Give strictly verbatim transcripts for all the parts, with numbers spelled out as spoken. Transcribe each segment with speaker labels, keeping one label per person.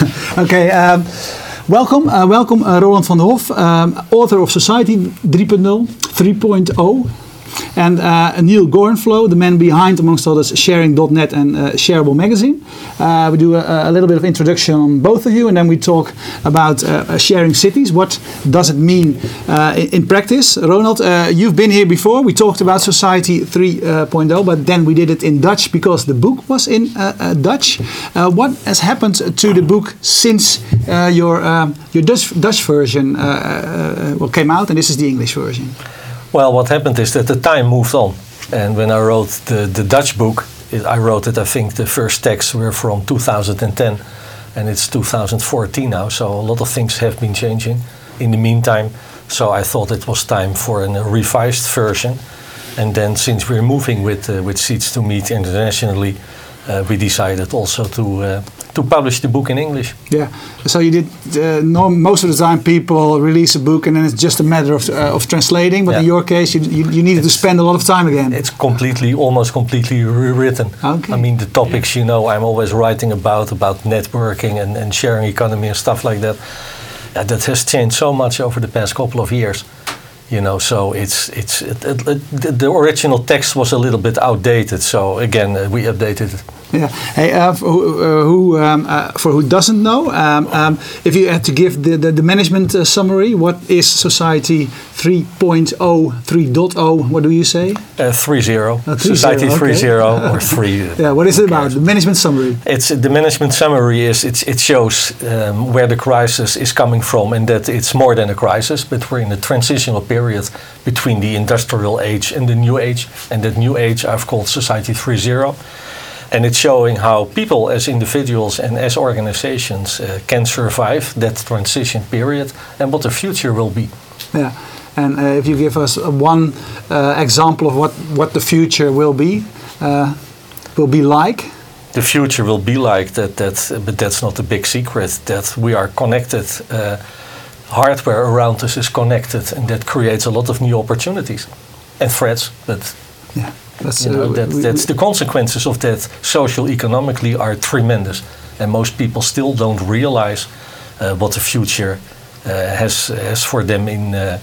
Speaker 1: Okay, um, welcome, uh, welcome uh, Roland van der Hof, um, author of Society three point oh, and uh, Neil Gorenflo, the man behind, amongst others, Sharing dot net and uh, Shareable Magazine. Uh, we do a, a little bit of introduction on both of you, and then we talk about uh, sharing cities. What does it mean uh, in, in practice? Ronald, uh, you've been here before. We talked about Society three point oh, but then we did it in Dutch because the book was in uh, uh, Dutch. Uh, what has happened to the book since uh, your uh, your Dutch Dutch version uh, uh, well, came out, and this is the English version?
Speaker 2: Well, what happened is that the time moved on. And when I wrote the, the Dutch book, it, I wrote it, I think the first texts were from two thousand ten, and it's two thousand fourteen now, so a lot of things have been changing in the meantime. So I thought it was time for a revised version. And then since we're moving with, uh, with Seeds to Meet internationally, uh, we decided also to uh, to publish the book in English.
Speaker 1: Yeah, so you did, uh, no, most of the time people release a book and then it's just a matter of, uh, of translating, but
Speaker 2: yeah.
Speaker 1: in your case you, you, you needed
Speaker 2: it's,
Speaker 1: to spend a lot of time again.
Speaker 2: It's completely, almost completely rewritten.
Speaker 1: Okay.
Speaker 2: I mean, the topics, you know, I'm always writing about, about networking and, and sharing economy and stuff like that. Yeah, that has changed so much over the past couple of years. You know, so it's it's it, it, it, the original text was a little bit outdated. So again, uh, we updated it.
Speaker 1: Yeah. Hey, uh, for who, uh, who um, uh, for who doesn't know, um, um, if you had to give the the, the management uh, summary, what is Society three point oh, three point oh? What do you say?
Speaker 2: Uh, three zero.
Speaker 1: Uh, three
Speaker 2: Society
Speaker 1: zero,
Speaker 2: three
Speaker 1: okay.
Speaker 2: zero or three.
Speaker 1: Yeah. What is it about? The management summary.
Speaker 2: It's the management summary is it's, it shows um, where the crisis is coming from, and that it's more than a crisis, but we're in a transitional period between the industrial age and the new age, and that new age I've called Society three point oh. And it's showing how people as individuals and as organizations uh, can survive that transition period and what the future will be.
Speaker 1: Yeah, and uh, if you give us uh, one uh, example of what, what the future will be, uh, will be like?
Speaker 2: The future will be like that, that, but that's not a big secret, that we are connected. Uh, hardware around us is connected, and that creates a lot of new opportunities and threats, but
Speaker 1: yeah. That's,
Speaker 2: you know,
Speaker 1: uh,
Speaker 2: that,
Speaker 1: we,
Speaker 2: that's the consequences of that social economically are tremendous, and most people still don't realize uh, what the future uh, has has for them in uh,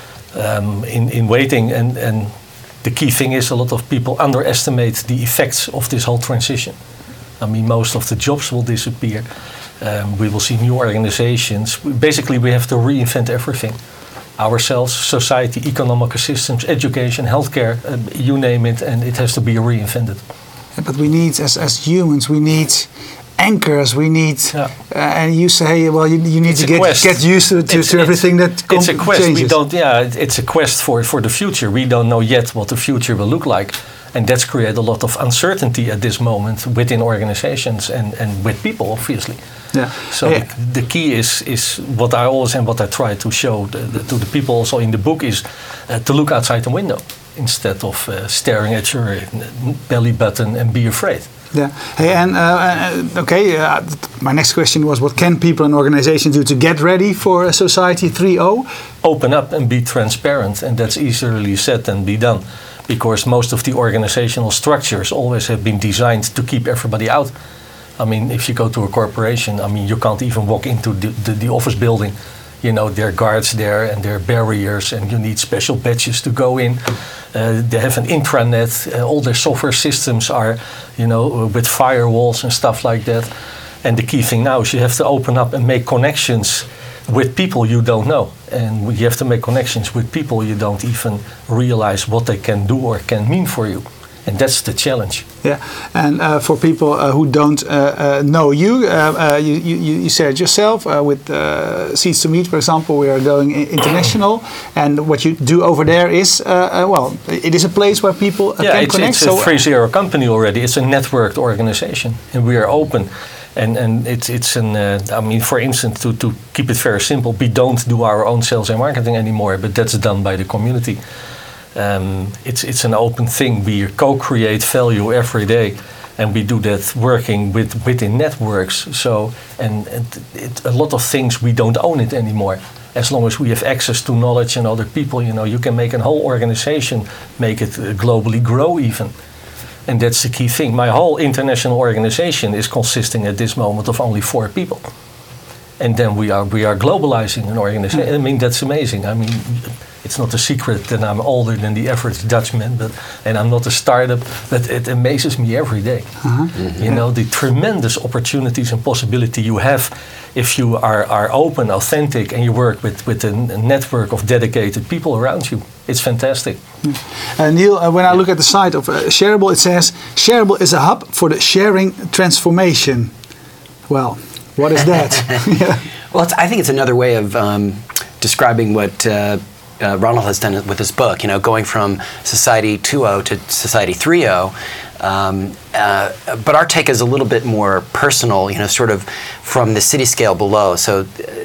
Speaker 2: um, in in waiting. And and the key thing is a lot of people underestimate the effects of this whole transition. I mean, most of the jobs will disappear. Um, we will see new organizations. Basically, we have to reinvent everything. Ourselves, society, economic systems, education, healthcare, uh, you name it, and it has to be reinvented.
Speaker 1: Yeah, but we need, as, as humans, we need anchors, we need,
Speaker 2: yeah.
Speaker 1: uh, and you say, well, you, you need
Speaker 2: it's
Speaker 1: to get, get used to, to, to everything that
Speaker 2: It's a quest.
Speaker 1: changes.
Speaker 2: We don't, yeah, it's a quest for, for the future. We don't know yet what the future will look like. And that's created a lot of uncertainty at this moment within organizations and, and with people, obviously.
Speaker 1: Yeah.
Speaker 2: So
Speaker 1: yeah.
Speaker 2: The, the key is is what I always and what I try to show the, the, to the people also in the book is uh, to look outside the window instead of uh, staring at your belly button and be afraid.
Speaker 1: Yeah. Hey, and uh, okay, uh, my next question was, what can people and organizations do to get ready for a Society three point oh?
Speaker 2: Open up and be transparent, and that's easily said than be done, because most of the organizational structures always have been designed to keep everybody out. I mean, if you go to a corporation, I mean, you can't even walk into the, the, the office building. You know, there are guards there and there are barriers, and you need special badges to go in. Uh, they have an intranet. Uh, all their software systems are, you know, with firewalls and stuff like that. And the key thing now is you have to open up and make connections with people you don't know. And you have to make connections with people you don't even realize what they can do or can mean for you. And that's the challenge.
Speaker 1: Yeah, and uh, for people uh, who don't uh, uh, know you, uh, uh, you, you, you said yourself uh, with uh, Seeds to Meet, for example, we are going international, and what you do over there is, uh, uh, well, it is a place where people uh,
Speaker 2: yeah,
Speaker 1: can
Speaker 2: it's,
Speaker 1: connect.
Speaker 2: it's a three zero company already. It's a networked organization, and we are open. And and it's it's an uh, I mean, for instance, to to keep it very simple, we don't do our own sales and marketing anymore, but that's done by the community. Um, it's it's an open thing. We co-create value every day, and we do that working with within networks. So and, and it, a lot of things we don't own it anymore. As long as we have access to knowledge and other people, you know, you can make a whole organization, make it uh, globally grow even. And that's the key thing. My whole international organization is consisting at this moment of only four people. and then we are we are globalizing an organization. I mean, that's amazing. I mean, it's not a secret that I'm older than the average Dutchman, but and I'm not a startup, but it amazes me every day.
Speaker 1: Uh-huh.
Speaker 2: Mm-hmm. You know, the tremendous opportunities and possibility you have if you are, are open, authentic, and you work with, with a, a network of dedicated people around you. It's fantastic.
Speaker 1: Uh, Neil, uh, when I look at the site of uh, Shareable, it says, Shareable is a hub for the sharing transformation. Well, what is that? Yeah.
Speaker 3: Well, it's, I think it's another way of um, describing what uh, uh, Ronald has done with his book, you know, going from Society two point oh to Society three point oh. Um, uh, but our take is a little bit more personal, you know, sort of from the city scale below. So,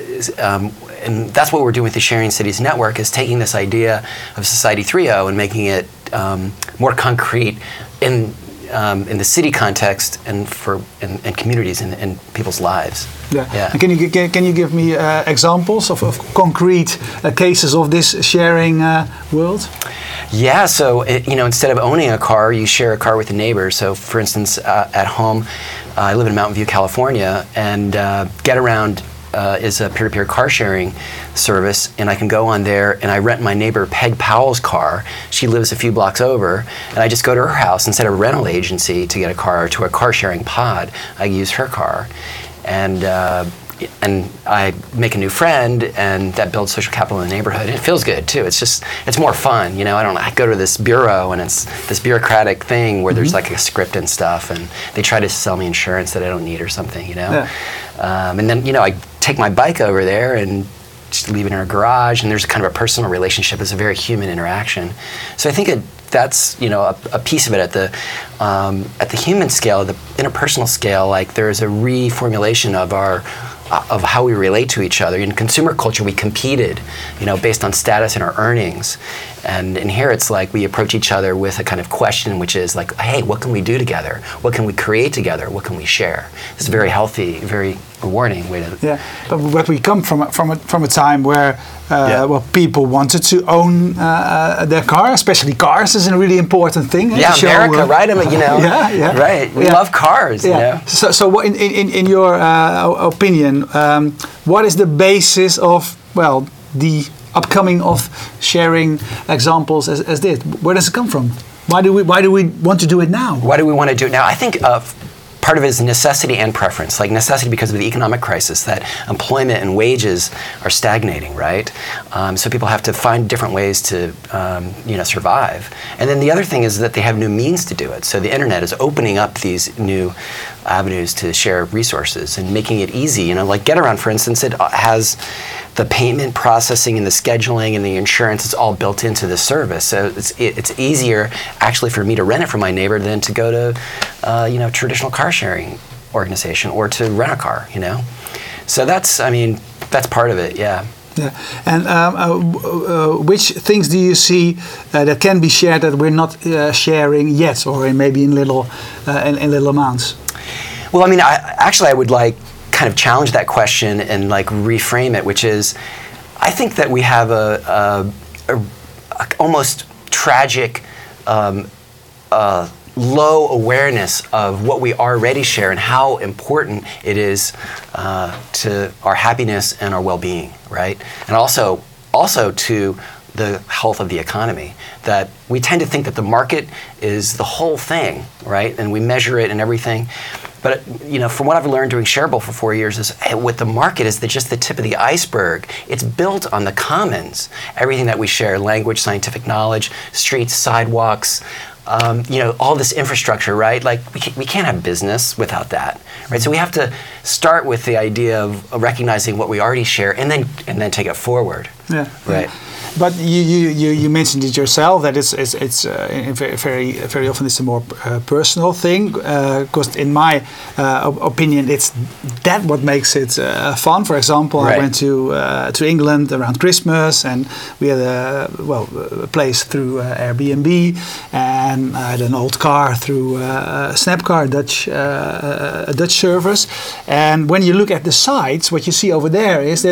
Speaker 3: um, and that's what we're doing with the Sharing Cities Network, is taking this idea of Society three point oh and making it um, more concrete in um, in the city context and for in, in communities and in, in people's lives.
Speaker 1: Yeah.
Speaker 3: Yeah.
Speaker 1: And can you can, can you give me uh, examples of, of concrete uh, cases of this sharing uh, world?
Speaker 3: Yeah, so it, you know, instead of owning a car, you share a car with a neighbor. So, for instance, uh, at home, uh, I live in Mountain View, California, and uh, GetAround uh, is a peer-to-peer car sharing service, and I can go on there and I rent my neighbor Peg Powell's car. She lives a few blocks over, and I just go to her house instead of a rental agency to get a car, or to a car sharing pod. I use her car, and. Uh, And I make a new friend, and that builds social capital in the neighborhood. And it feels good too. It's just, it's more fun, you know. I don't. I go to this bureau, and it's this bureaucratic thing where mm-hmm. there's like a script and stuff, and they try to sell me insurance that I don't need or something, you know. Yeah. Um, and then you know, I take my bike over there and just leave it in her garage, and there's kind of a personal relationship. It's a very human interaction. So I think it. That's you know a, a piece of it at the um, at the human scale, the interpersonal scale. Like there's a reformulation of our. Of how we relate to each other. In consumer culture, we competed, you know, based on status and our earnings. And in here, it's like we approach each other with a kind of question, which is like, hey, what can we do together? What can we create together? What can we share? It's a very healthy, very rewarding way to.
Speaker 1: Yeah, but, but we come from a, from a, from a time where uh, yeah. well, people wanted to own uh, their car, especially cars is a really important thing.
Speaker 3: Yeah,
Speaker 1: show,
Speaker 3: America,
Speaker 1: uh,
Speaker 3: right? I mean, you know,
Speaker 1: yeah, yeah,
Speaker 3: right. We
Speaker 1: yeah.
Speaker 3: love cars.
Speaker 1: Yeah.
Speaker 3: You know?
Speaker 1: So, so what in in in your uh, opinion, um, what is the basis of well the upcoming of sharing examples as, as this? Where does it come from? Why do we why do we want to do it now?
Speaker 3: Why do we want to do it now? I think uh, part of it is necessity and preference. Like necessity because of the economic crisis, that employment and wages are stagnating, right? Um, so people have to find different ways to um, you know survive. And then the other thing is that they have new means to do it. So the internet is opening up these new avenues to share resources and making it easy. You know, like GetAround, for instance, it has the payment processing and the scheduling and the insurance. It's all built into the service. So it's it, it's easier actually for me to rent it from my neighbor than to go to uh, you know traditional car sharing organization or to rent a car. You know, so that's I mean that's part of it. Yeah.
Speaker 1: Yeah, and um, uh, uh, which things do you see uh, that can be shared that we're not uh, sharing yet, or maybe in little uh, in, in little amounts?
Speaker 3: Well, I mean, I, actually, I would like kind of challenge that question and like reframe it, which is, I think that we have a, a, a, a almost tragic, um, uh, low awareness of what we already share and how important it is uh, to our happiness and our well-being, right? And also, also to the health of the economy. That we tend to think that the market is the whole thing, right? And we measure it and everything. But you know, from what I've learned doing Shareable for four years is hey, with the market is the, just the tip of the iceberg. It's built on the commons. Everything that we share, language, scientific knowledge, streets, sidewalks, um, you know, all this infrastructure, right? Like we can't, we can't have business without that, right? So we have to start with the idea of recognizing what we already share and then and then take it forward.
Speaker 1: Yeah.
Speaker 3: Right.
Speaker 1: Yeah. But you, you, you, you mentioned it yourself that it's it's, it's uh, very very very often it's a more uh, personal thing because uh, in my uh, opinion it's that what makes it uh, fun. For example, right. I went to uh, to England around Christmas and we had a well a place through uh, Airbnb and I had an old car through uh, Snapcar, Dutch uh, a Dutch service. And when you look at the sites, what you see over there is that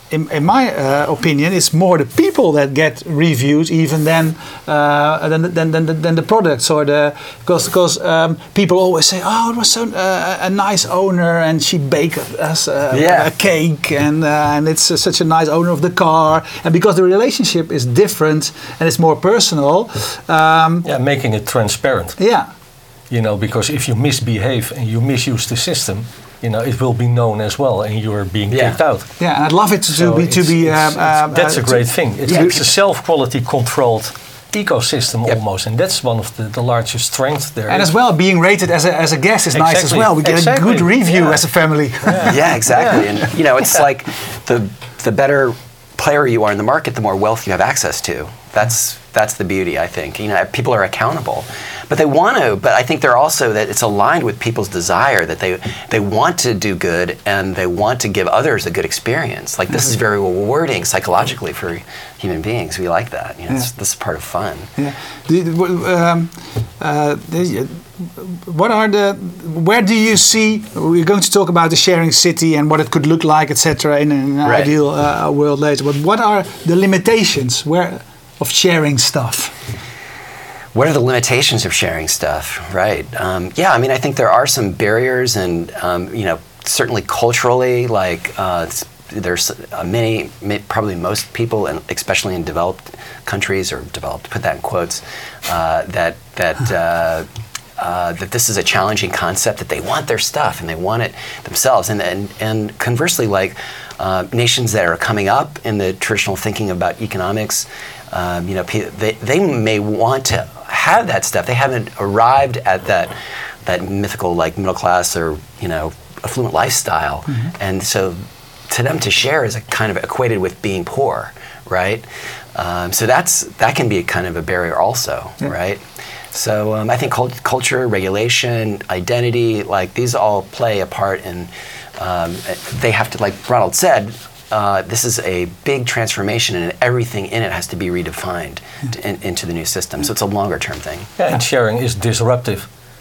Speaker 1: in, in my uh, opinion, it's more the people that get reviews even than uh, than, than, than, than the products or the because because um, people always say, oh, it was so uh, a nice owner and she baked us uh,
Speaker 3: Yeah.
Speaker 1: a cake and uh, and it's uh, such a nice owner of the car, and because the relationship is different and it's more personal. Um,
Speaker 2: Yeah, making it transparent.
Speaker 1: yeah.
Speaker 2: You know, because if you misbehave and you misuse the system, you know, it will be known as well, and you are being
Speaker 3: Yeah.
Speaker 2: kicked out.
Speaker 1: Yeah, and I'd love it to,
Speaker 2: So
Speaker 1: be to
Speaker 2: it's-
Speaker 1: be.
Speaker 2: it's-
Speaker 1: um,
Speaker 2: it's-
Speaker 1: um,
Speaker 2: that's
Speaker 1: uh,
Speaker 2: a great thing. It's,
Speaker 1: yeah.
Speaker 2: it's a self-quality controlled ecosystem
Speaker 3: Yep.
Speaker 2: almost, and that's one of the, the largest strengths there.
Speaker 1: And as well, being rated as a, as a guest is nice as
Speaker 2: Exactly.
Speaker 1: well. We get
Speaker 2: Exactly.
Speaker 1: a good review
Speaker 2: Yeah.
Speaker 1: as a family.
Speaker 3: Yeah, exactly. And you know, it's like the the better player you are in the market, the more wealth you have access to. That's that's the beauty, I think. You know, people are accountable, but they want to. But I think they're also that it's aligned with people's desire that they they want to do good and they want to give others a good experience. Like this is very rewarding psychologically for human beings. We like that. You know, it's,
Speaker 1: Yeah.
Speaker 3: this is part of fun.
Speaker 1: Yeah. The- um, uh, the- what are the? Where do you see? We're going to talk about the sharing city and what it could look like, et cetera, in an
Speaker 3: Right.
Speaker 1: ideal uh, world later. But what are the limitations where of sharing stuff?
Speaker 3: What are the limitations of sharing stuff? Right. Um, yeah. I mean, I think there are some barriers, and um, you know, certainly culturally, like uh, s- there's uh, many, ma- probably most people, and especially in developed countries or developed, put that in quotes, uh, that that. Uh, Uh, that this is a challenging concept, that they want their stuff and they want it themselves, and and, and conversely, like uh, nations that are coming up in the traditional thinking about economics, um, you know, pe- they they may want to have that stuff. They haven't arrived at that that mythical like middle class or you know affluent lifestyle, and so to them to share is a kind of equated with being poor, right? Um, so that's that can be a kind of a barrier also,
Speaker 1: Yeah.
Speaker 3: right? So um, I think cult- culture, regulation, identity, like these all play a part in. Um, they have to, like Ronald said, uh, this is a big transformation, and everything in it has to be redefined to, in, into the new system. So it's a longer term thing.
Speaker 2: Yeah, and sharing is disruptive.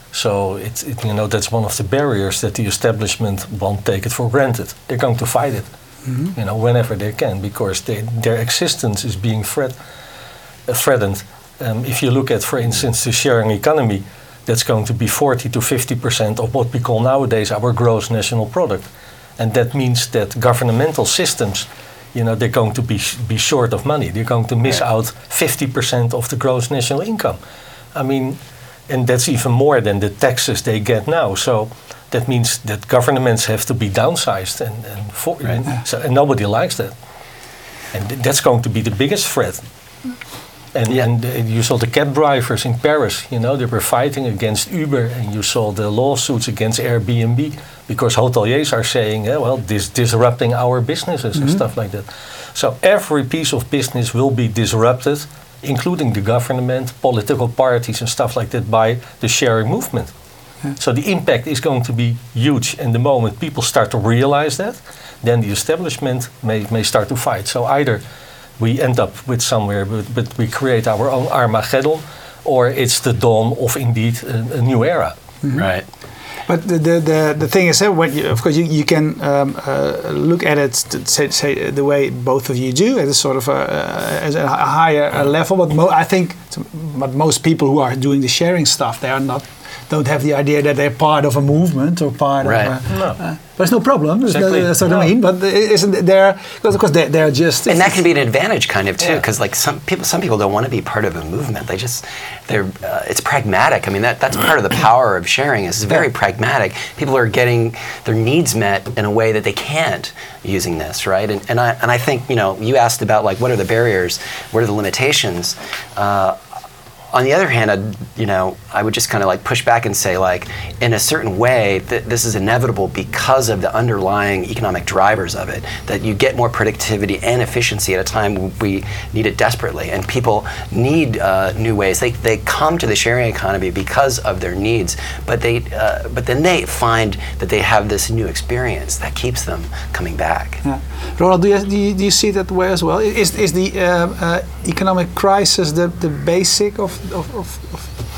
Speaker 2: So it's it, you know that's one of the barriers that the establishment won't take it for granted. They're going to fight it, you know, whenever they can, because they, their existence is being threat, uh, threatened. Um, if you look at, for instance, the sharing economy, that's going to be forty to fifty percent of what we call nowadays our gross national product, and that means that governmental systems, you know, they're going to be be short of money. They're going to miss out fifty percent of the gross national income. I mean, and that's even more than the taxes they get now. So that means that governments have to be downsized, and and, for,
Speaker 3: Right.
Speaker 2: and, so, and nobody likes that. And th- that's going to be the biggest threat. And,
Speaker 3: Yeah.
Speaker 2: and uh, you saw the cab drivers in Paris, you know, they were fighting against Uber, and you saw the lawsuits against Airbnb because hoteliers are saying, eh, well, this disrupting our businesses and stuff like that. So every piece of business will be disrupted, including the government, political parties and stuff like that, by the sharing movement. So the impact is going to be huge, and the moment people start to realize that, then the establishment may, may start to fight. So either we end up with somewhere, but, but we create our own Armageddon, or it's the dawn of indeed a, a new era.
Speaker 3: Right.
Speaker 1: But the the, the, the thing is, uh, when you, of course, you, you can um, uh, look at it, to say, say the way both of you do, at a sort of a, uh, as a higher uh, level. But mo I think, but most people who are doing the sharing stuff, they are not, don't have the idea that they're part of a movement or part
Speaker 3: Right.
Speaker 1: of. A,
Speaker 2: No.
Speaker 1: uh, there's no problem. That's-
Speaker 2: Exactly.
Speaker 1: That's what
Speaker 2: No.
Speaker 1: I mean. But isn't there? Because of course they they're just.
Speaker 3: And that can be an advantage, kind of too,
Speaker 2: Yeah.
Speaker 3: because like some people, some people don't want to be part of a movement. They just, they're, uh, it's pragmatic. I mean, that that's part of the power of sharing. Is it's very pragmatic. People are getting their needs met in a way that they can't using this, right? And and I and I think you know, you asked about like what are the barriers, what are the limitations. Uh, on the other hand, I'd, you know, I would just kind of like push back and say, like, in a certain way, th- this is inevitable because of the underlying economic drivers of it. That you get more productivity and efficiency at a time we need it desperately, and people need uh, new ways. They they come to the sharing economy because of their needs, but they uh, but then they find that they have this new experience that keeps them coming back.
Speaker 1: Yeah. Ronald, do you, do you, do you see that way as well? Is is the uh, uh, economic crisis the, the basic of, of, of, of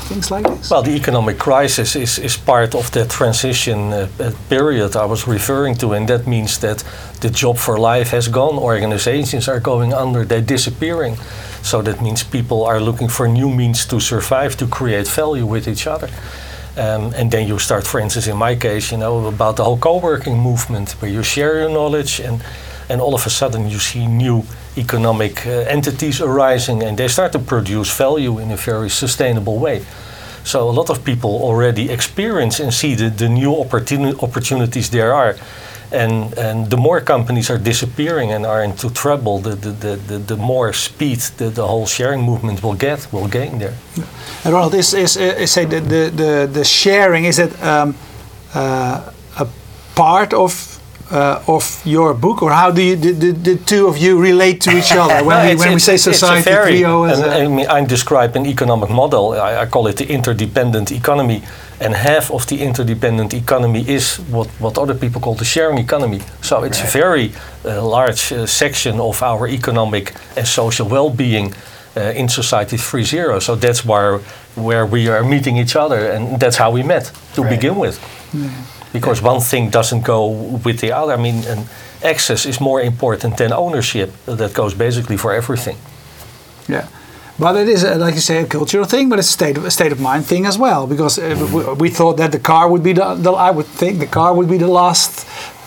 Speaker 1: things like this?
Speaker 2: Well, the economic crisis is, is part of the transition uh, uh, period I was referring to, and that means that the job for life has gone. Organizations are going under, they're disappearing. So that means people are looking for new means to survive, to create value with each other. Um, and then you start, for instance, in my case, you know, about the whole co-working movement, where you share your knowledge, and, and all of a sudden you see new economic uh, entities arising, and they start to produce value in a very sustainable way. So a lot of people already experience and see the, the new opportuni- opportunities there are. And, and the more companies are disappearing and are into trouble, the, the, the, the, the more speed the, the whole sharing movement will get, will gain there.
Speaker 1: And Ronald, is, is, is say the, the, the, the sharing, is it um, uh, a part of uh, of your book, or how do you, the, the, the two of you relate to each other when,
Speaker 2: no,
Speaker 1: we, when we say society three point oh?
Speaker 2: And, I mean, I describe an economic model. I, I call it the interdependent economy. And half of the interdependent economy is what, what other people call the sharing economy. So it's right. a very uh, large uh, section of our economic and social well-being uh, in Society three point oh. So that's where, where we are meeting each other, and that's how we met to right. begin with. Yeah. Because yeah. one thing doesn't go with the other. I mean, and access is more important than ownership. That goes basically for everything.
Speaker 1: Yeah. But it is, uh, like you say, a cultural thing, but it's a state of, a state of mind thing as well. Because uh, we, we thought that the car would be the, the, I would think the car would be the last,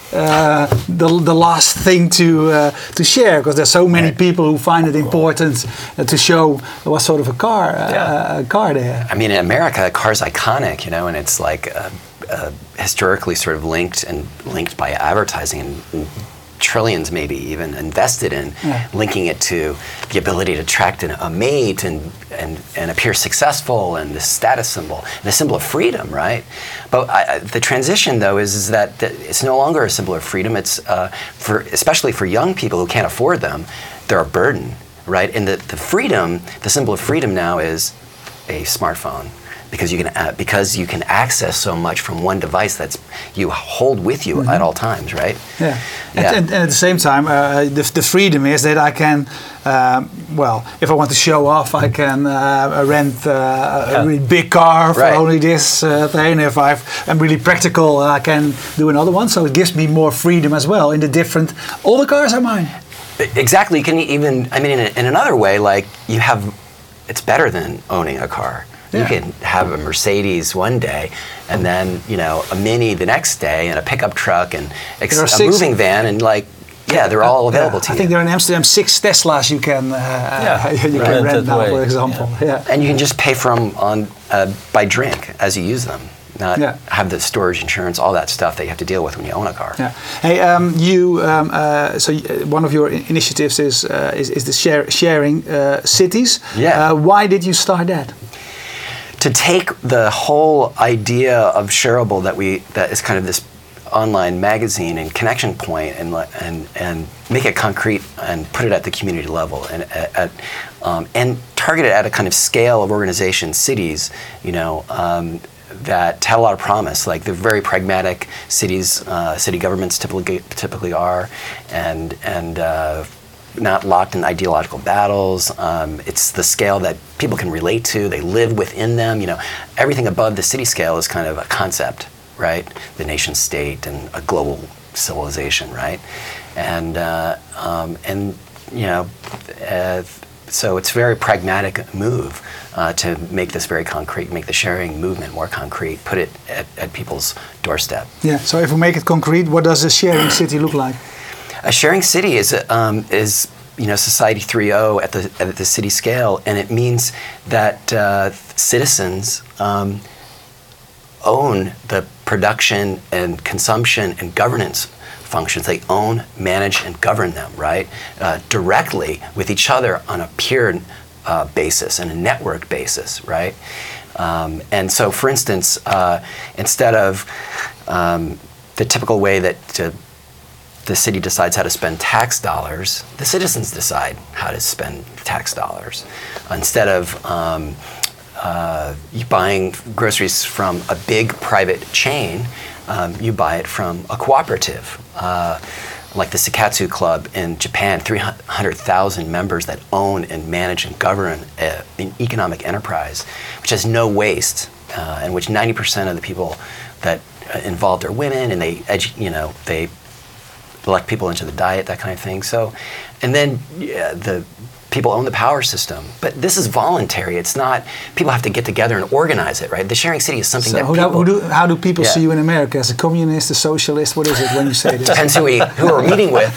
Speaker 1: uh, the the last thing to uh, to share. Because there's so many people who find it important uh, to show what sort of a car, uh, yeah. a car they have.
Speaker 3: I mean, in America, a car's iconic, you know, and it's like uh, uh, historically sort of linked and linked by advertising and. and trillions maybe even invested in yeah. linking it to the ability to attract an, a mate and, and and appear successful, and the status symbol and a symbol of freedom, right? But I, the transition though is, is that, that it's no longer a symbol of freedom. It's uh, for especially for young people who can't afford them, they're a burden, right? And the, the freedom, the symbol of freedom now is a smartphone. Because you can uh, because you can access so much from one device that's you hold with you mm-hmm. at all times, right?
Speaker 1: Yeah, yeah. And, and, and at the same time, uh, the, the freedom is that I can, um, well, if I want to show off, I can uh, rent uh, yeah. a really big car for right. only this uh, thing. If I've, I'm really practical, I can do another one. So it gives me more freedom as well in the different. All the cars are mine.
Speaker 3: Exactly. You can even, I mean, in, a, in another way, like you have, it's better than owning a car. You yeah. can have a Mercedes one day, and then you know a Mini the next day, and a pickup truck, and ex- a six, moving van, and like yeah, they're all available
Speaker 1: yeah.
Speaker 3: to you.
Speaker 1: I think there are in Amsterdam six Teslas you can uh, yeah. you right. can rent now, way. for example. Yeah.
Speaker 3: yeah, and you can just pay for them on uh, by drink as you use them. Not yeah. have the storage, insurance, all that stuff that you have to deal with when you own a car.
Speaker 1: Yeah. Hey, um, you. Um, uh, so one of your initiatives is uh, is, is the share, sharing uh, cities.
Speaker 3: Yeah.
Speaker 1: Uh, why did you start that?
Speaker 3: To take the whole idea of Shareable that we that is kind of this online magazine and connection point, and and and make it concrete and put it at the community level, and at, um, and target it at a kind of scale of organizations, cities, you know, um, that had a lot of promise. Like they're very pragmatic cities, uh, city governments typically typically are, and and. Uh, not locked in ideological battles. Um, it's the scale that people can relate to. They live within them. You know, everything above the city scale is kind of a concept, right? The nation state and a global civilization, right? And uh, um, and you know, uh, so it's a very pragmatic move uh, to make this very concrete, make the sharing movement more concrete, put it at, at people's doorstep.
Speaker 1: Yeah. So if we make it concrete, what does a sharing city look like?
Speaker 3: A sharing city is um, is you know Society three point oh at the at the city scale, and it means that uh, citizens um, own the production and consumption and governance functions. They own, manage, and govern them, right, uh, directly with each other on a peer uh, basis and a network basis, right. Um, and so, for instance, uh, instead of um, the typical way that uh, the city decides how to spend tax dollars, the citizens decide how to spend tax dollars. Instead of um, uh, you buying groceries from a big private chain, um, you buy it from a cooperative. Uh, like the Sekatsu Club in Japan, three hundred thousand members that own and manage and govern a, an economic enterprise, which has no waste, uh, and which ninety percent of the people that uh, involved are women, and they, edu- you know, they elect people into the diet, that kind of thing. So, and then yeah, the people own the power system, but this is voluntary. It's not, people have to get together and organize it, right? The sharing city is something
Speaker 1: So
Speaker 3: that
Speaker 1: who,
Speaker 3: people...
Speaker 1: who do, how do people
Speaker 3: Yeah.
Speaker 1: see you in America? As a communist, a socialist? What is it when you say this?
Speaker 3: Depends who, we, who we're meeting with.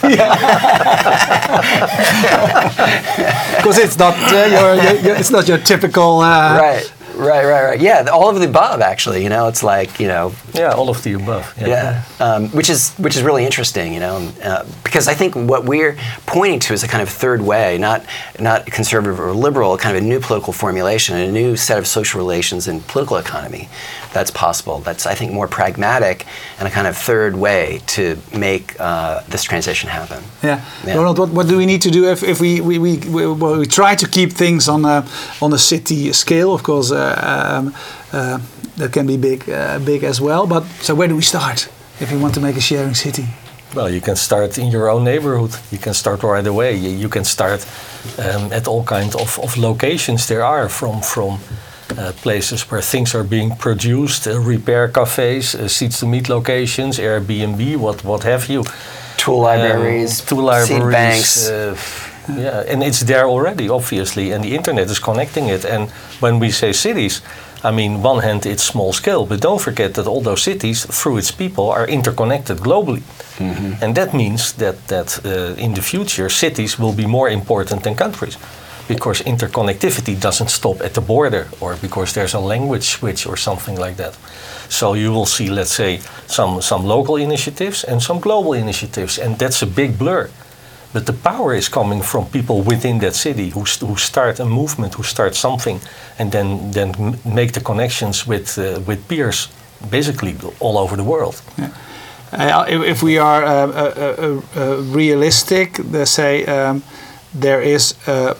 Speaker 1: Because it's not uh, your, your, your, it's not your typical. Uh,
Speaker 3: Right, right, right, right. Yeah, all of the above, actually. You know, it's like, you know,
Speaker 2: Yeah, all of the above. Yeah.
Speaker 3: yeah, um, which is which is really interesting, you know, uh, because I think what we're pointing to is a kind of third way, not not conservative or liberal, kind of a new political formulation, a new set of social relations and political economy that's possible. That's, I think, more pragmatic and a kind of third way to make uh, this transition happen.
Speaker 1: Yeah.
Speaker 3: Yeah.
Speaker 1: Ronald, what, what do we need to do if, if we we, we, we, well, we try to keep things on a on a city scale? Of course, uh, um, uh, that can be big uh, big as well. But so where do we start if we want to make a sharing city?
Speaker 2: Well, you can start in your own neighborhood. You can start right away. You, you can start um, at all kinds of, of locations there are, from from uh, places where things are being produced, uh, repair cafes, uh, seats to meet locations, Airbnb, what what have you.
Speaker 3: Tool libraries,
Speaker 2: um, tool libraries,
Speaker 3: seed banks.
Speaker 2: Uh, yeah, and it's there already, obviously, and the internet is connecting it. And when we say cities, I mean, one hand it's small scale, but don't forget that all those cities, through its people, are interconnected globally. Mm-hmm. And that means that, that uh, in the future, cities will be more important than countries, because interconnectivity doesn't stop at the border, or because there's a language switch or something like that. So you will see, let's say, some, some local initiatives and some global initiatives, and that's a big blur. But the power is coming from people within that city who, st- who start a movement, who start something, and then then m- make the connections with uh, with peers, basically all over the world.
Speaker 1: Yeah. Uh, if, if we are uh, uh, uh, uh, realistic, they say um, there is uh, uh,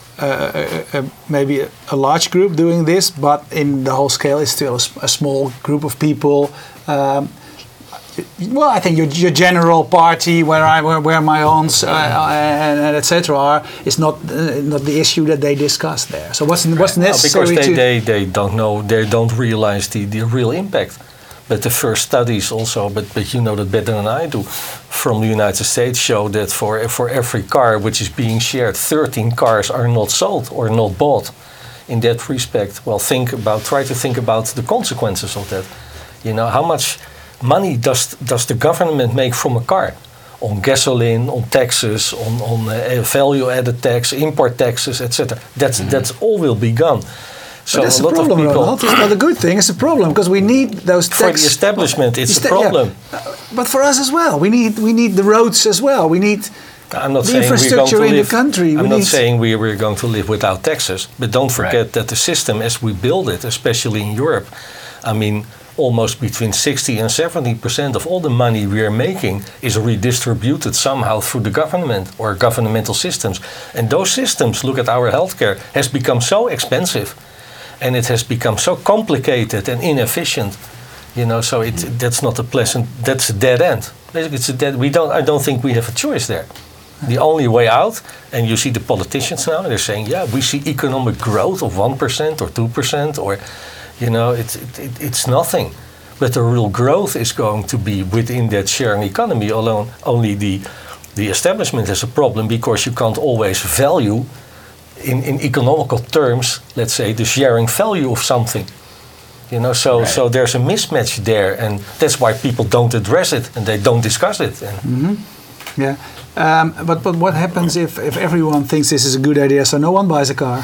Speaker 1: uh, uh, maybe a, a large group doing this, but in the whole scale, it's still a, s- a small group of people. Um, Well, I think your, your general party, where I where, where my aunts uh, and, and et cetera are, is not uh, not the issue that they discuss there. So what's what's
Speaker 2: Well,
Speaker 1: necessary
Speaker 2: because they,
Speaker 1: to
Speaker 2: they, they don't know, they don't realize the, the real impact. But the first studies also, but, but you know that better than I do, from the United States show that for for every car which is being shared, thirteen cars are not sold or not bought. In that respect, well, think about, try to think about the consequences of that. You know, how much money does does the government make from a car? On gasoline, on taxes, on, on uh, value-added tax, import taxes, et cetera. That's mm-hmm. that's all will be gone. So
Speaker 1: but that's
Speaker 2: a
Speaker 1: a
Speaker 2: lot
Speaker 1: problem,
Speaker 2: of people,
Speaker 1: Ronald. It's not a good thing. It's a problem because we need those tax
Speaker 2: for the establishment, it's a problem.
Speaker 1: Yeah. But for us as well, we need we need the roads as well. We need
Speaker 2: I'm not
Speaker 1: the
Speaker 2: saying we're going to
Speaker 1: infrastructure in
Speaker 2: live,
Speaker 1: the country.
Speaker 2: I'm
Speaker 1: we
Speaker 2: not
Speaker 1: need
Speaker 2: saying we we're going to live without taxes, but don't forget
Speaker 3: Right.
Speaker 2: that the system as we build it, especially in Europe, I mean, almost between sixty and seventy percent of all the money we are making is redistributed somehow through the government or governmental systems. And those systems, look at our healthcare, has become so expensive and it has become so complicated and inefficient. You know, so it, that's not a pleasant, that's a dead end. Basically, it's a dead, we don't, I don't think we have a choice there. The only way out, and you see the politicians now, they're saying, yeah, we see economic growth of one percent or two percent or, you know, it's, it, it's nothing. But the real growth is going to be within that sharing economy alone. Only the, the establishment has a problem because you can't always value, in, in economical terms, let's say, the sharing value of something. You know, so,
Speaker 3: Right.
Speaker 2: so there's a mismatch there, and that's why people don't address it and they don't discuss it. And
Speaker 1: Mm-hmm. Yeah. Um, but but what happens if, if everyone thinks this is a good idea, so no one buys a car?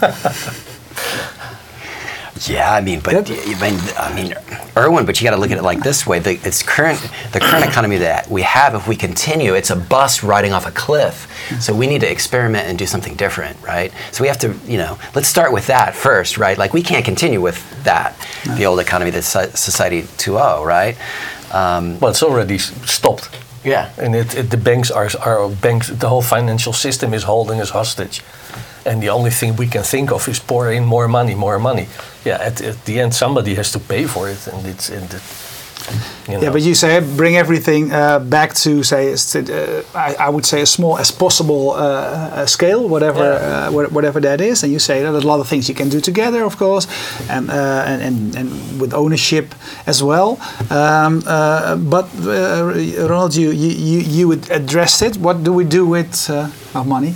Speaker 3: Yeah, I mean, but
Speaker 1: Yep.
Speaker 3: I mean, I mean, Erwin, but you got to look at it like this way: the, it's current, the current economy that we have. If we continue, it's a bus riding off a cliff. So we need to experiment and do something different, right? So we have to, you know, let's start with that first, right? Like we can't continue with that, no. the old economy, the society two point oh, right? Um,
Speaker 2: well, it's already s- stopped.
Speaker 3: Yeah,
Speaker 2: And it, it, the banks are, are banks. The whole financial system is holding us hostage, and the only thing we can think of is pour in more money, more money. Yeah, at, at the end somebody has to pay for it, and it's. And it, You know?
Speaker 1: Yeah, but you say bring everything uh, back to say uh, I, I would say as small as possible uh, uh, scale, whatever
Speaker 2: Yeah.
Speaker 1: uh, whatever that is, and you say that there's a lot of things you can do together, of course, and uh, and, and and with ownership as well. Um, uh, but uh, Ronald, you, you you would address it. What do we do with uh, our money?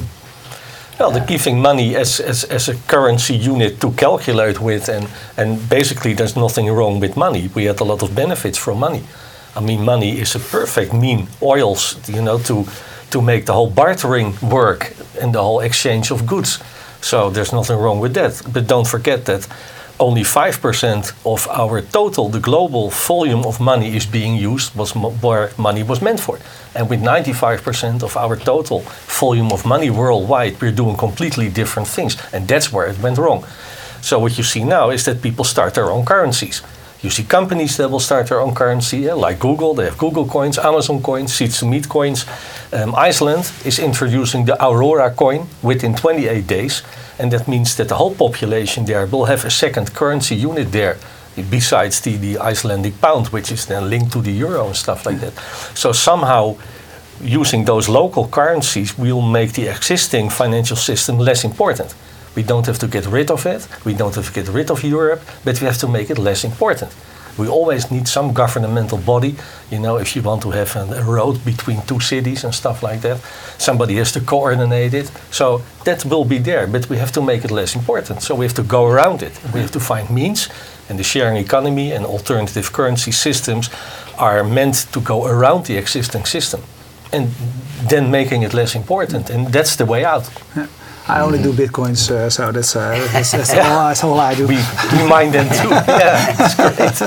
Speaker 2: Well, the giving money as, as, as a currency unit to calculate with, and, and basically there's nothing wrong with money. We had a lot of benefits from money. I mean, money is a perfect mean, oils, you know, to, to make the whole bartering work and the whole exchange of goods. So there's nothing wrong with that. But don't forget that only five percent of our total, the global volume of money is being used was mo- where money was meant for. And with ninety-five percent of our total volume of money worldwide, we're doing completely different things. And that's where it went wrong. So what you see now is that people start their own currencies. You see companies that will start their own currency, yeah, like Google. They have Google coins, Amazon coins, Seeds to Meat coins. Um, Iceland is introducing the Aurora coin within twenty-eight days. And that means that the whole population there will have a second currency unit there, besides the, the Icelandic pound, which is then linked to the euro and stuff like that. So somehow, using those local currencies will make the existing financial system less important. We don't have to get rid of it, we don't have to get rid of Europe, but we have to make it less important. We always need some governmental body, you know, if you want to have a, a road between two cities and stuff like that, somebody has to coordinate it. So that will be there, but we have to make it less important. So we have to go around it. We have to find means, and the sharing economy and alternative currency systems are meant to go around the existing system and then making it less important. And that's the way out.
Speaker 1: Yeah. I only do bitcoins, uh, so that's uh, that's, that's, yeah. all, that's all I do.
Speaker 2: We, we mind them too. Yeah, that's great.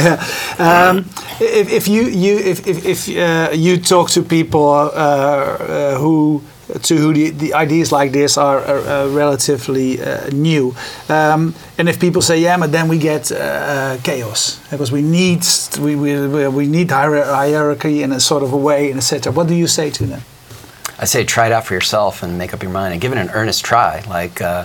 Speaker 1: yeah. um, if, if you you if if, if uh, you talk to people uh, uh, who to who the, the ideas like this are, are uh, relatively uh, new, um, and if people say yeah, but then we get uh, chaos because we need we we we need hierarchy in a sort of a way, and et cetera. What do you say to them?
Speaker 3: I say try it out for yourself and make up your mind and give it an earnest try. Like, uh,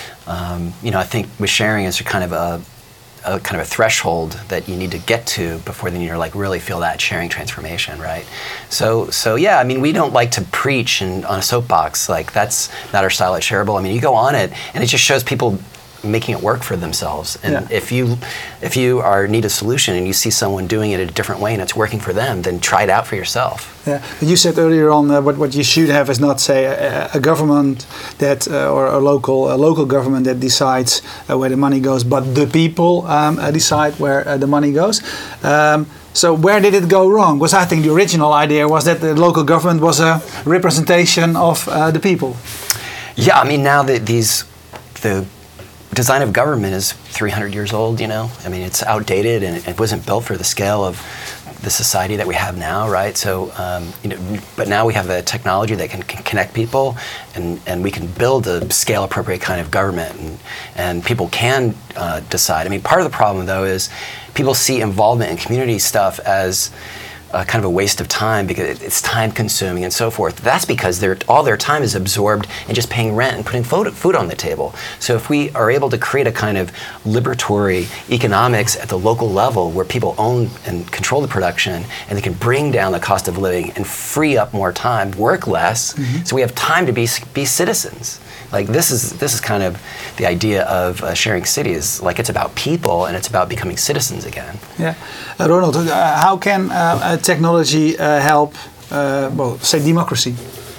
Speaker 3: um, you know, I think with sharing is kind of a, a kind of a threshold that you need to get to before then you're like really feel that sharing transformation, right? So, so yeah, I mean, we don't like to preach and on a soapbox. Like that's not our style at Shareable. I mean, you go on it and it just shows people making it work for themselves. And
Speaker 1: yeah.
Speaker 3: if you if you are need a solution and you see someone doing it a different way and it's working for them, then try it out for yourself.
Speaker 1: Yeah, you said earlier on uh, what what you should have is not say a, a government that uh, or a local a local government that decides uh, where the money goes, but the people um, uh, decide where uh, the money goes. Um, So where did it go wrong? Because I think the original idea was that the local government was a representation of uh, the people.
Speaker 3: Yeah, I mean now that these the design of government is three hundred years old, you know? I mean, it's outdated and it wasn't built for the scale of the society that we have now, right? So, um, you know, but now we have a technology that can, can connect people and, and we can build a scale appropriate kind of government and, and people can uh, decide. I mean, part of the problem though is people see involvement in community stuff as Uh, kind of a waste of time because it's time consuming and so forth. That's because they're, all their time is absorbed in just paying rent and putting food, food on the table. So if we are able to create a kind of liberatory economics at the local level where people own and control the production and they can bring down the cost of living and free up more time, work less, mm-hmm. so we have time to be be citizens. Like this is this is kind of the idea of uh, sharing cities. Like it's about people and it's about becoming citizens again.
Speaker 1: Yeah, uh, Ronald, uh, how can uh, uh, technology uh, help? Uh, well, say democracy.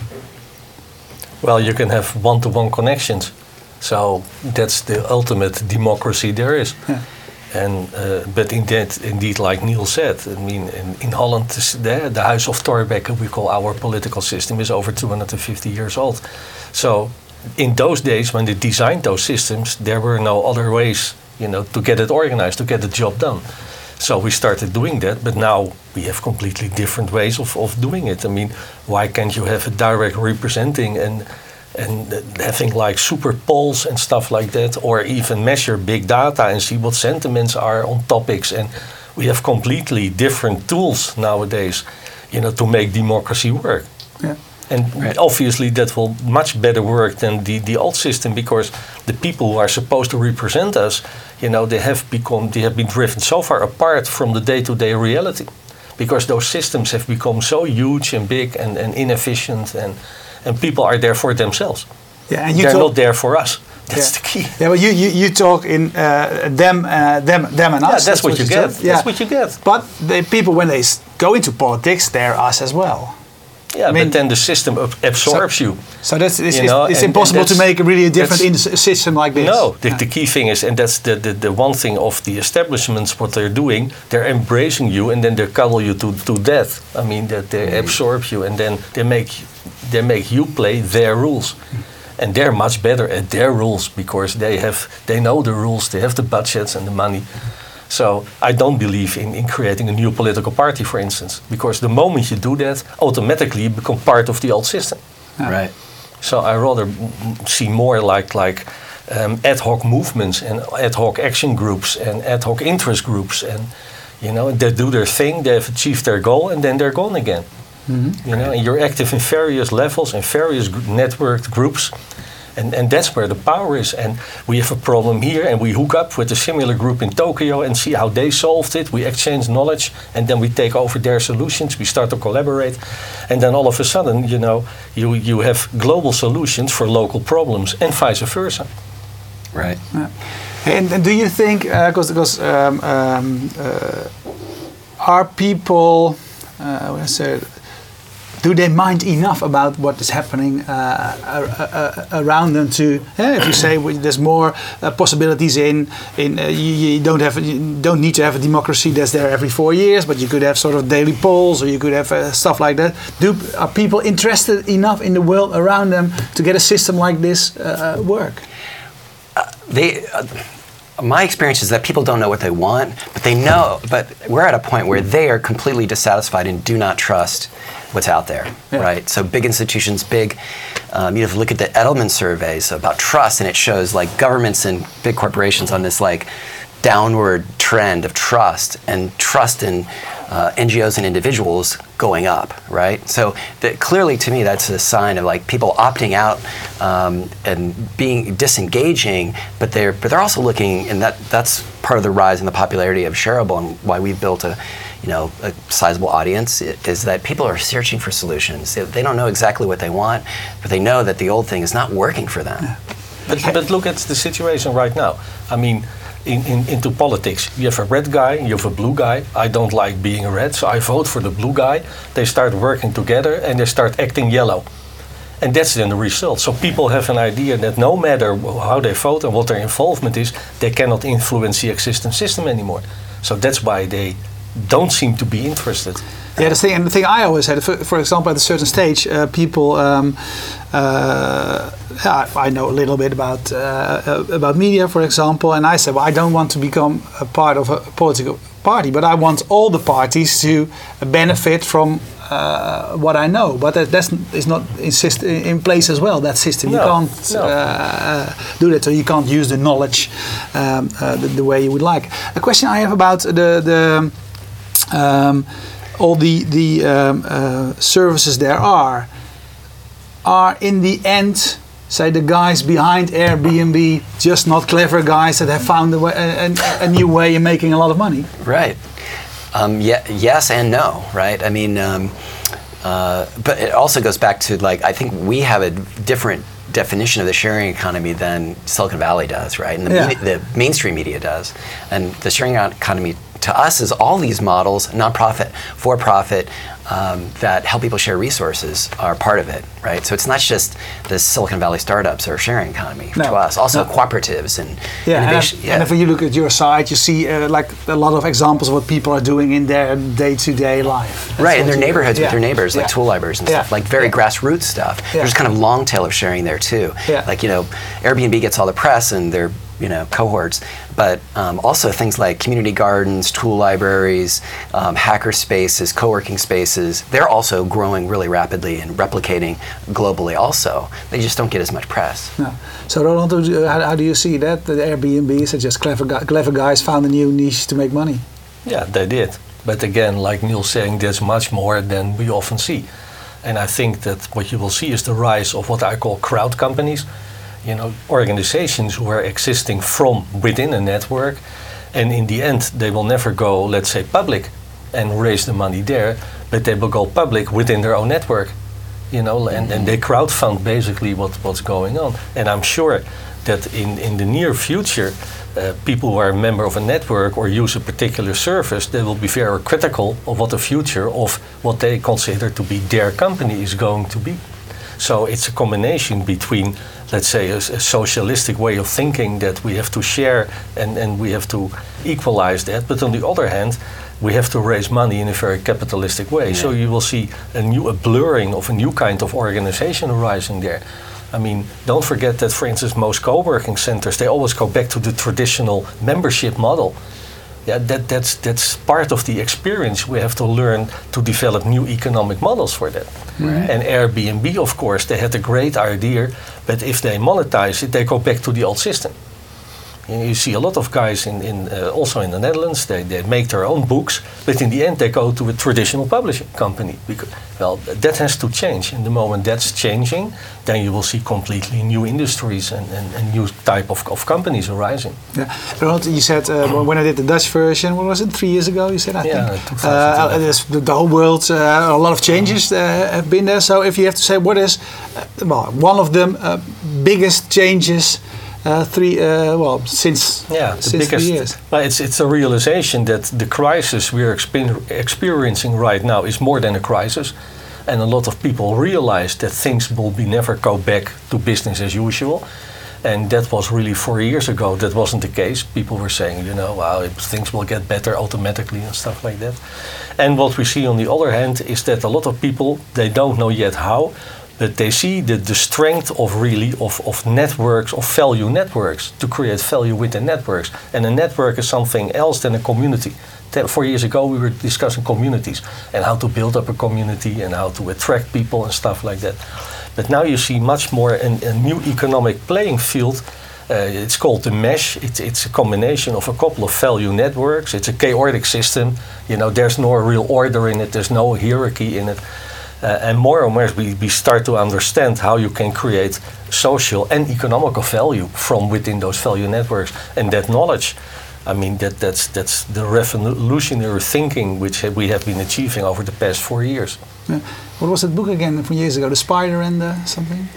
Speaker 2: Well, you can have one-to-one connections, so that's the ultimate democracy there is.
Speaker 1: Yeah.
Speaker 2: And uh, but indeed, indeed, like Neil said, I mean, in, in Holland, the, the House of Thorbecke, we call our political system, is over two hundred fifty years old. So in those days, when they designed those systems, there were no other ways, you know, to get it organized, to get the job done. So we started doing that, but now we have completely different ways of, of doing it. I mean, why can't you have a direct representing and and having like super polls and stuff like that, or even measure big data and see what sentiments are on topics? And we have completely different tools nowadays, you know, to make democracy work.
Speaker 1: Yeah.
Speaker 2: And right. obviously that will much better work than the, the old system, because the people who are supposed to represent us, you know, they have become, they have been driven so far apart from the day-to-day reality, because those systems have become so huge and big and, and inefficient, and and people are there for themselves.
Speaker 1: Yeah, and you
Speaker 2: They're
Speaker 1: talk,
Speaker 2: not there for us. That's
Speaker 1: yeah.
Speaker 2: the key.
Speaker 1: Yeah, well, you, you, you talk in uh, them, uh, them, them and us.
Speaker 2: Yeah, that's, that's what, what you get.
Speaker 1: Said. Yeah.
Speaker 2: That's what you get.
Speaker 1: But the people, when they s- go into politics, they're us as well.
Speaker 2: Yeah,
Speaker 1: I mean,
Speaker 2: but then the system ab- absorbs
Speaker 1: so,
Speaker 2: you.
Speaker 1: So that's it's,
Speaker 2: You
Speaker 1: it's,
Speaker 2: know,
Speaker 1: it's
Speaker 2: and-
Speaker 1: impossible
Speaker 2: and
Speaker 1: to
Speaker 2: that's-
Speaker 1: make a really a different in- system like this.
Speaker 2: No, the,
Speaker 1: Yeah.
Speaker 2: the key thing is, and that's the, the, the one thing of the establishments, what they're doing, they're embracing you and then they cuddle you to, to death. I mean, that they absorb you and then they make, they make you play their rules. And they're much better at their rules because they have, they know the rules, they have the budgets and the money. So I don't believe in, in creating a new political party, for instance, because the moment you do that, automatically you become part of the old system.
Speaker 1: Yeah.
Speaker 3: Right.
Speaker 2: So I rather m- see more like like um, ad hoc movements and ad hoc action groups and ad hoc interest groups, and you know, they do their thing, they have achieved their goal, and then they're gone again.
Speaker 1: Mm-hmm.
Speaker 2: You know, and you're active in various levels and various gr- networked groups. And, and that's where the power is. And we have a problem here, and we hook up with a similar group in Tokyo and see how they solved it. We exchange knowledge, and then we take over their solutions. We start to collaborate, and then all of a sudden, you know, you you have global solutions for local problems, and vice versa.
Speaker 3: Right.
Speaker 1: Yeah. And, and do you think, because because um, um, uh, are people, uh, what I said, do they mind enough about what is happening uh, uh, uh, around them to? Yeah, if you say well, there's more uh, possibilities in in uh, you, you don't have you don't need to have a democracy that's there every four years, but you could have sort of daily polls, or you could have uh, stuff like that. Do are people interested enough in the world around them to get a system like this uh, work?
Speaker 3: Uh, they. Uh, My experience is that people don't know what they want, but they know. But we're at a point where they are completely dissatisfied and do not trust what's out there,
Speaker 1: Yeah.
Speaker 3: right? So big institutions, big. Um, you have to look at the Edelman surveys about trust, and it shows like governments and big corporations on this like downward trend of trust, and trust in uh, N G Os and individuals going up, right? So that clearly, to me, that's a sign of like people opting out um, and being disengaging, but they're but they're also looking, and that that's part of the rise in the popularity of Shareable and why we've built a, you know, a sizable audience, is that people are searching for solutions. They, they don't know exactly what they want, but they know that the old thing is not working for them.
Speaker 2: But, but look at the situation right now. I mean, in, in, into politics, you have a red guy, you have a blue guy. I don't like being a red, so I vote for the blue guy. They start working together and they start acting yellow. And that's then the result. So people have an idea that no matter how they vote and what their involvement is, they cannot influence the existing system anymore. So that's why they don't seem to be interested.
Speaker 1: Yeah, the thing, and the thing I always had, for, for example, at a certain stage, uh, people, um, uh, yeah, I know a little bit about uh, about media, for example, and I said, well, I don't want to become a part of a political party, but I want all the parties to benefit from uh, what I know. But that that's, is not insist, in place as well, that system. You
Speaker 2: No,
Speaker 1: can't
Speaker 2: no.
Speaker 1: uh, do that, so you can't use the knowledge um, uh, the, the way you would like. A question I have about the... the um, all the, the um, uh, services there are, are in the end, say the guys behind Airbnb, just not clever guys that have found a, way, a, a new way of making a lot of money?
Speaker 3: Right. Um, yeah, yes and no, right? I mean, um, uh, but it also goes back to, like, I think we have a different definition of the sharing economy than Silicon Valley does, right? And the,
Speaker 1: Yeah.
Speaker 3: media, the mainstream media does. And the sharing economy to us is all these models, nonprofit, for-profit, um, that help people share resources are part of it, right? So it's not just the Silicon Valley startups or sharing economy
Speaker 1: No.
Speaker 3: to us. Also
Speaker 1: No.
Speaker 3: cooperatives and
Speaker 1: Yeah, and,
Speaker 3: innovation.
Speaker 1: if, and if you look at your site, you see uh, like a lot of examples of what people are doing in their day-to-day life. That's
Speaker 3: Right, in
Speaker 1: what
Speaker 3: their
Speaker 1: you-
Speaker 3: neighborhoods
Speaker 1: yeah.
Speaker 3: with their neighbors, like
Speaker 1: Yeah.
Speaker 3: tool libraries and
Speaker 1: Yeah.
Speaker 3: stuff, like very
Speaker 1: Yeah.
Speaker 3: grassroots stuff.
Speaker 1: Yeah.
Speaker 3: There's kind of long tail of sharing there too.
Speaker 1: Yeah.
Speaker 3: Like, you know, Airbnb gets all the press and their, you know, cohorts, but um, also things like community gardens, tool libraries, um, hacker spaces, co-working spaces, they're also growing really rapidly and replicating globally also. They just don't get as much press.
Speaker 1: No. So Roland, how do- how, how do you see that? The Airbnbs are just clever, gu- clever guys found a new niche to make money.
Speaker 2: Yeah, they did. But again, like Neil's saying, there's much more than we often see. And I think that what you will see is the rise of what I call crowd companies. you know, organizations who are existing from within a network, and in the end they will never go, let's say, public and raise the money there, but they will go public within their own network, you know, and, and they crowdfund basically what, what's going on. And I'm sure that in, in the near future, uh, people who are a member of a network or use a particular service, they will be very critical of what the future of what they consider to be their company is going to be. So it's a combination between, let's say, a, a socialistic way of thinking that we have to share and, and we have to equalize that. But on the other hand, we have to raise money in a very capitalistic way. Yeah. So you will see a new a blurring of a new kind of organization arising there. I mean, don't forget that, for instance, most co-working centers, they always go back to the traditional membership model. Yeah, that, that's, that's part of the experience. We have to learn to develop new economic models for that. Right. And Airbnb, of course, they had a great idea, but if they monetize it, they go back to the old system. And you see a lot of guys in, in uh, also in the Netherlands, they, they make their own books, but in the end they go to a traditional publishing company. Because, well, that has to change. In the moment that's changing, then you will see completely new industries and, and, and new type of, of companies arising.
Speaker 1: Yeah, Ronald, you said uh, when I did the Dutch version, what was it, three years ago? You said, I
Speaker 2: yeah,
Speaker 1: think. Uh, the, the whole world, uh, a lot of changes uh, have been there. So if you have to say, what is, uh, well, one of the uh, biggest changes? Uh, three, uh, well, since
Speaker 2: yeah, the
Speaker 1: since
Speaker 2: biggest,
Speaker 1: three years.
Speaker 2: Well, it's it's a realization that the crisis we are exper experiencing right now is more than a crisis, and a lot of people realize that things will be never go back to business as usual, and that was really four years ago. That wasn't the case. People were saying, you know, wow, things will get better automatically and stuff like that. And what we see on the other hand is that a lot of people, they don't know yet how, but they see the, the strength of really of, of networks, of value networks, to create value within networks. And a network is something else than a community. Ten, four years ago we were discussing communities and how to build up a community and how to attract people and stuff like that. But now you see much more in a new economic playing field. Uh, it's called the mesh. It's, it's a combination of a couple of value networks. It's a chaotic system. You know, there's no real order in it. There's no hierarchy in it. Uh, and more and more we, we start to understand how you can create social and economical value from within those value networks. And that knowledge, I mean, that, that's, that's the revolutionary thinking which we have been achieving over the past four years.
Speaker 1: Yeah. What was that book again from years ago? The Spider and the something?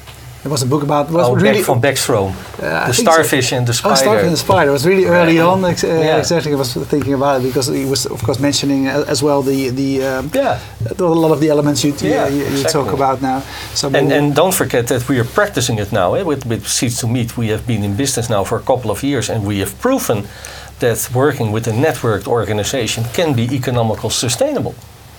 Speaker 1: It was a book about... Was
Speaker 2: oh,
Speaker 1: really,
Speaker 2: from Beckstrom. Uh, the Starfish so. and the Spider.
Speaker 1: Oh, Starfish and the Spider. It was really early
Speaker 2: right.
Speaker 1: on. Ex uh,
Speaker 2: yeah.
Speaker 1: Exactly, I was thinking about it because he was, of course, mentioning as well the the um,
Speaker 2: yeah.
Speaker 1: a lot of the elements you
Speaker 2: yeah,
Speaker 1: you, you
Speaker 2: exactly.
Speaker 1: talk about now. So
Speaker 2: and, and don't forget that we are practicing it now. Eh? With, with Seeds to Meet, we have been in business now for a couple of years, and we have proven that working with a networked organization can be economical sustainable.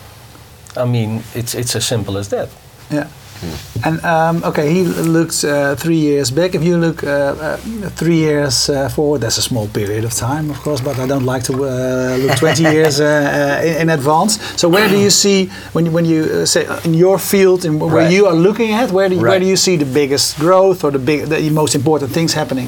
Speaker 2: I mean, it's it's as simple as that.
Speaker 1: Yeah. Mm. And um, okay, he looks uh, three years back. If you look uh, uh, three years uh, forward, that's a small period of time, of course. But I don't like to uh, look twenty years uh, uh, in, in advance. So where do you see when you, when you uh, say in your field and where
Speaker 3: right.
Speaker 1: you are looking at, where do you,
Speaker 3: right.
Speaker 1: where do you see the biggest growth or the big, the most important things happening?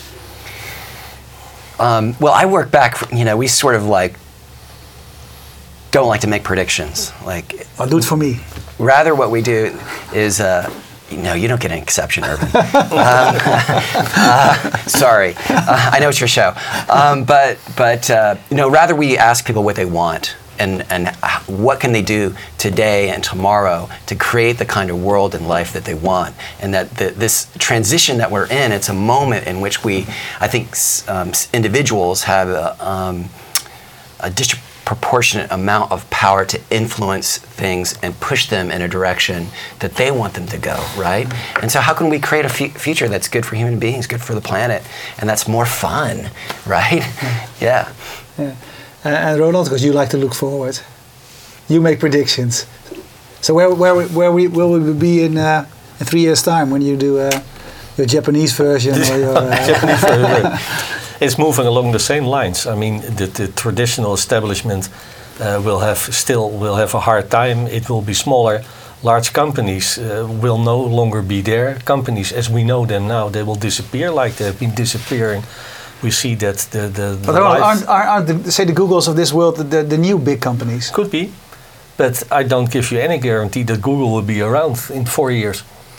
Speaker 3: Um, well, I work back. You know, we sort of like don't like to make predictions. Like,
Speaker 1: oh, do it for me.
Speaker 3: Rather, what we do is, uh, no, you don't get an exception, Irvin. um, uh, sorry, uh, I know it's your show, um, but but uh, you know, rather we ask people what they want and and what can they do today and tomorrow to create the kind of world and life that they want, and that the, this transition that we're in, it's a moment in which we, I think, um, individuals have a, um, a distribution. Proportionate amount of power to influence things and push them in a direction that they want them to go, right? And so how can we create a f future that's good for human beings, good for the planet, and that's more fun, right? Yeah.
Speaker 1: Yeah. Uh, and Ronald, because you like to look forward, you make predictions. So where where where we will we be in uh, in three years' time when you do uh, your Japanese version or your uh,
Speaker 2: Japanese version? It's moving along the same lines. I mean, the, the traditional establishment uh, will have still will have a hard time. It will be smaller. Large companies uh, will no longer be there. Companies, as we know them now, they will disappear like they have been disappearing. We see that the the. the
Speaker 1: but aren't, aren't, aren't the, say the Googles of this world the, the new big companies?
Speaker 2: Could be, but I don't give you any guarantee that Google will be around in four years.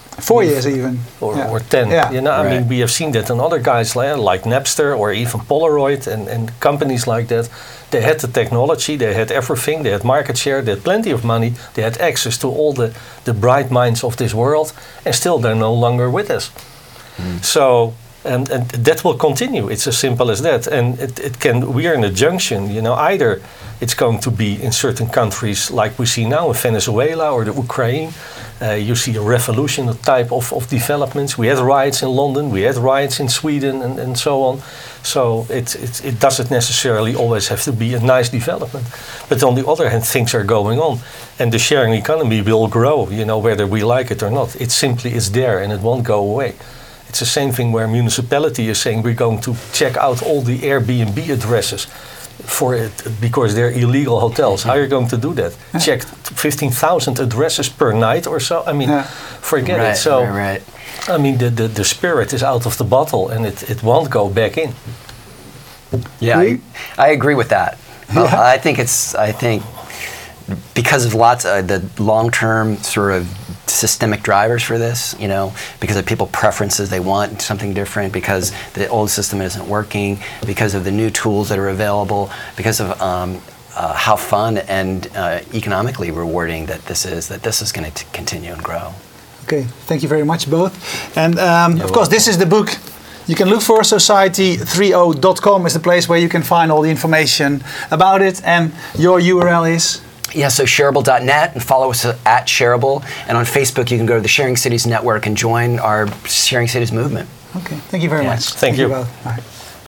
Speaker 1: Four years even.
Speaker 2: Or,
Speaker 1: Yeah.
Speaker 2: or ten.
Speaker 1: Yeah.
Speaker 2: You know, I
Speaker 3: Right.
Speaker 2: mean, we have seen that in other guys like, like Napster or even Polaroid and, and companies like that. They had the technology, they had everything, they had market share, they had plenty of money, they had access to all the, the bright minds of this world, and still they're no longer with us.
Speaker 3: Mm.
Speaker 2: So, and, and that will continue. It's as simple as that. And it, it can, we are in a junction, you know, either it's going to be in certain countries like we see now in Venezuela or the Ukraine. Uh, you see a revolution type of, of developments. We had riots in London, we had riots in Sweden, and, and so on. So it, it, it doesn't necessarily always have to be a nice development. But on the other hand, things are going on. And the sharing economy will grow, you know, whether we like it or not. It simply is there and it won't go away. It's the same thing where municipality is saying we're going to check out all the Airbnb addresses for it because they're illegal hotels. How are you going to do that?
Speaker 1: Yeah.
Speaker 2: Check fifteen thousand addresses per night or so? I mean,
Speaker 1: Yeah.
Speaker 2: forget
Speaker 3: Right,
Speaker 2: it. So,
Speaker 3: right, right.
Speaker 2: I mean, the, the, the spirit is out of the bottle and it, it won't go back in.
Speaker 3: Yeah, I, I agree with that. Uh,
Speaker 1: Yeah.
Speaker 3: I think it's. I think because of lots of the long-term sort of systemic drivers for this, you know, because of people preferences, they want something different, because the old system isn't working, because of the new tools that are available, because of um, uh, how fun and uh, economically rewarding that this is, that this is going to continue and grow.
Speaker 1: Okay, thank you very much both. And um, of course, this is the book you can look for. society thirty dot com is the place where you can find all the information about it. And your U R L is?
Speaker 3: Yeah, so shareable dot net, and follow us at Shareable. And on Facebook, you can go to the Sharing Cities Network and join our Sharing Cities movement.
Speaker 1: Okay, thank you very
Speaker 3: Yeah.
Speaker 1: much.
Speaker 2: Thank you.
Speaker 1: both. Bye.